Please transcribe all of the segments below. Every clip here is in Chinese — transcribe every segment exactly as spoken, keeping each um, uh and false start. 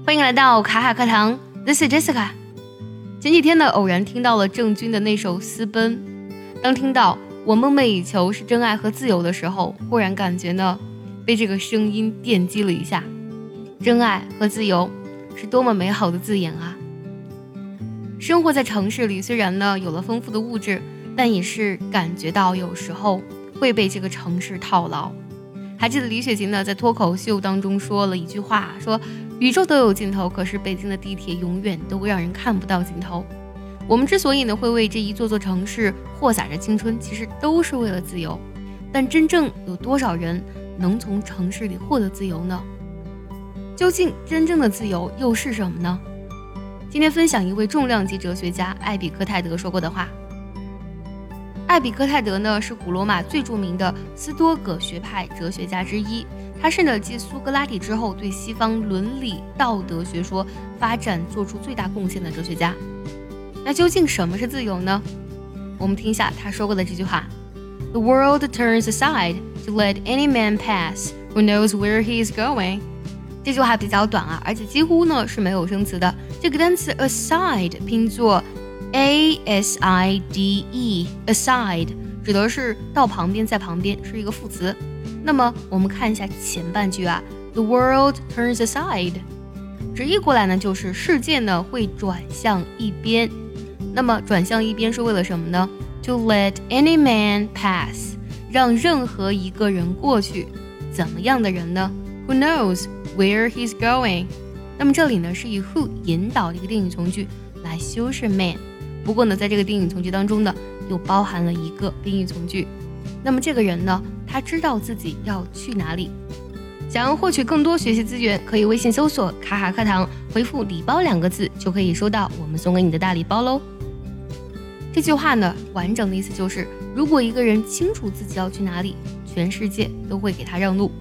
欢迎来到卡卡课堂 This is Jessica。 前几天呢，偶然听到了郑钧的那首《私奔》，当听到我梦寐以求是真爱和自由的时候，忽然感觉呢被这个声音电击了一下。真爱和自由是多么美好的字眼啊！生活在城市里，虽然呢有了丰富的物质，但也是感觉到有时候会被这个城市套牢。还记得李雪琴呢在脱口秀当中说了一句话，说宇宙都有尽头，可是北京的地铁永远都让人看不到尽头。我们之所以呢会为这一座座城市豁洒着青春，其实都是为了自由。但真正有多少人能从城市里获得自由呢？究竟真正的自由又是什么呢？今天分享一位重量级哲学家艾比克泰德说过的话。艾比克泰德呢是古罗马最著名的斯多葛学派哲学家之一，他是呢继苏格拉底之后对西方伦理道德学说发展做出最大贡献的哲学家。那究竟什么是自由呢？我们听一下他说过的这句话 The world turns aside to let any man pass who knows where he is going。 这句话比较短啊，而且几乎呢是没有生词的。这个单词 aside 拼作A S I D E aside 指的是到旁边，在旁边，是一个副词。那么我们看一下前半句啊 The world turns aside 直译过来呢就是世界呢会转向一边。那么转向一边是为了什么呢？ To let any man pass 让任何一个人过去。怎么样的人呢？ Who knows where he's going。 那么这里呢是以 who 引导的一个定语从句来修饰 man，不过呢在这个定语从句当中呢又包含了一个宾语从句。那么这个人呢他知道自己要去哪里。想要获取更多学习资源，可以微信搜索卡卡课堂，回复礼包两个字就可以收到我们送给你的大礼包喽。这句话呢完整的意思就是，如果一个人清楚自己要去哪里，全世界都会给他让路。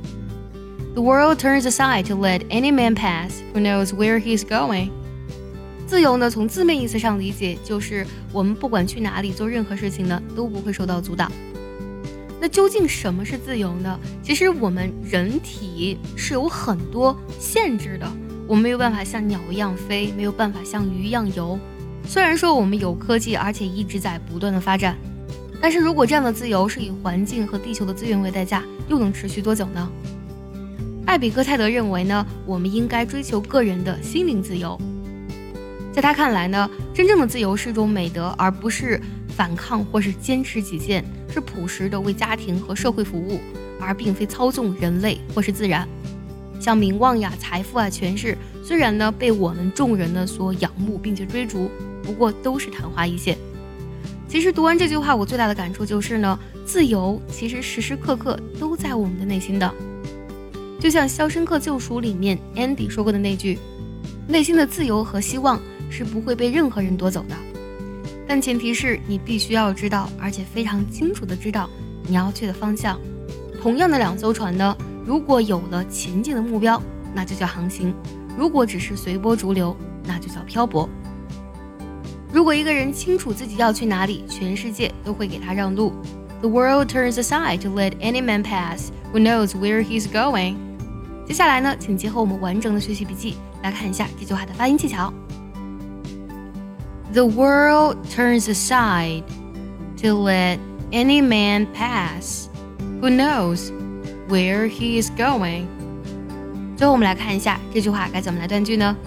The world turns aside to let any man pass who knows where he's going。自由呢从字面意思上理解，就是我们不管去哪里做任何事情呢都不会受到阻挡。那究竟什么是自由呢？其实我们人体是有很多限制的，我们没有办法像鸟一样飞，没有办法像鱼一样游。虽然说我们有科技，而且一直在不断的发展，但是如果这样的自由是以环境和地球的资源为代价，又能持续多久呢？艾比克泰德认为呢，我们应该追求个人的心灵自由。在他看来呢，真正的自由是一种美德，而不是反抗或是坚持己见，是朴实的为家庭和社会服务，而并非操纵人类或是自然。像名望呀、财富啊、权势，虽然呢被我们众人呢所仰慕并且追逐，不过都是昙花一现。其实读完这句话，我最大的感触就是呢，自由其实时时刻刻都在我们的内心的。就像《肖申克救赎》里面 Andy 说过的那句，内心的自由和希望是不会被任何人夺走的，但前提是你必须要知道，而且非常清楚的知道你要去的方向。同样的两艘船呢，如果有了前进的目标，那就叫航行；如果只是随波逐流，那就叫漂泊。如果一个人清楚自己要去哪里，全世界都会给他让路。 The world turns aside to let any man pass who knows where he's going。 接下来呢，请结合我们完整的学习笔记来看一下这句话的发音技巧。The world turns aside to let any man pass who knows where he is going。 最后我们来看一下这句话该怎么来断句呢？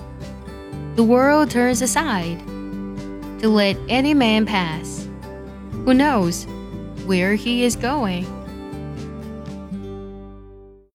The world turns aside to let any man pass who knows where he is going。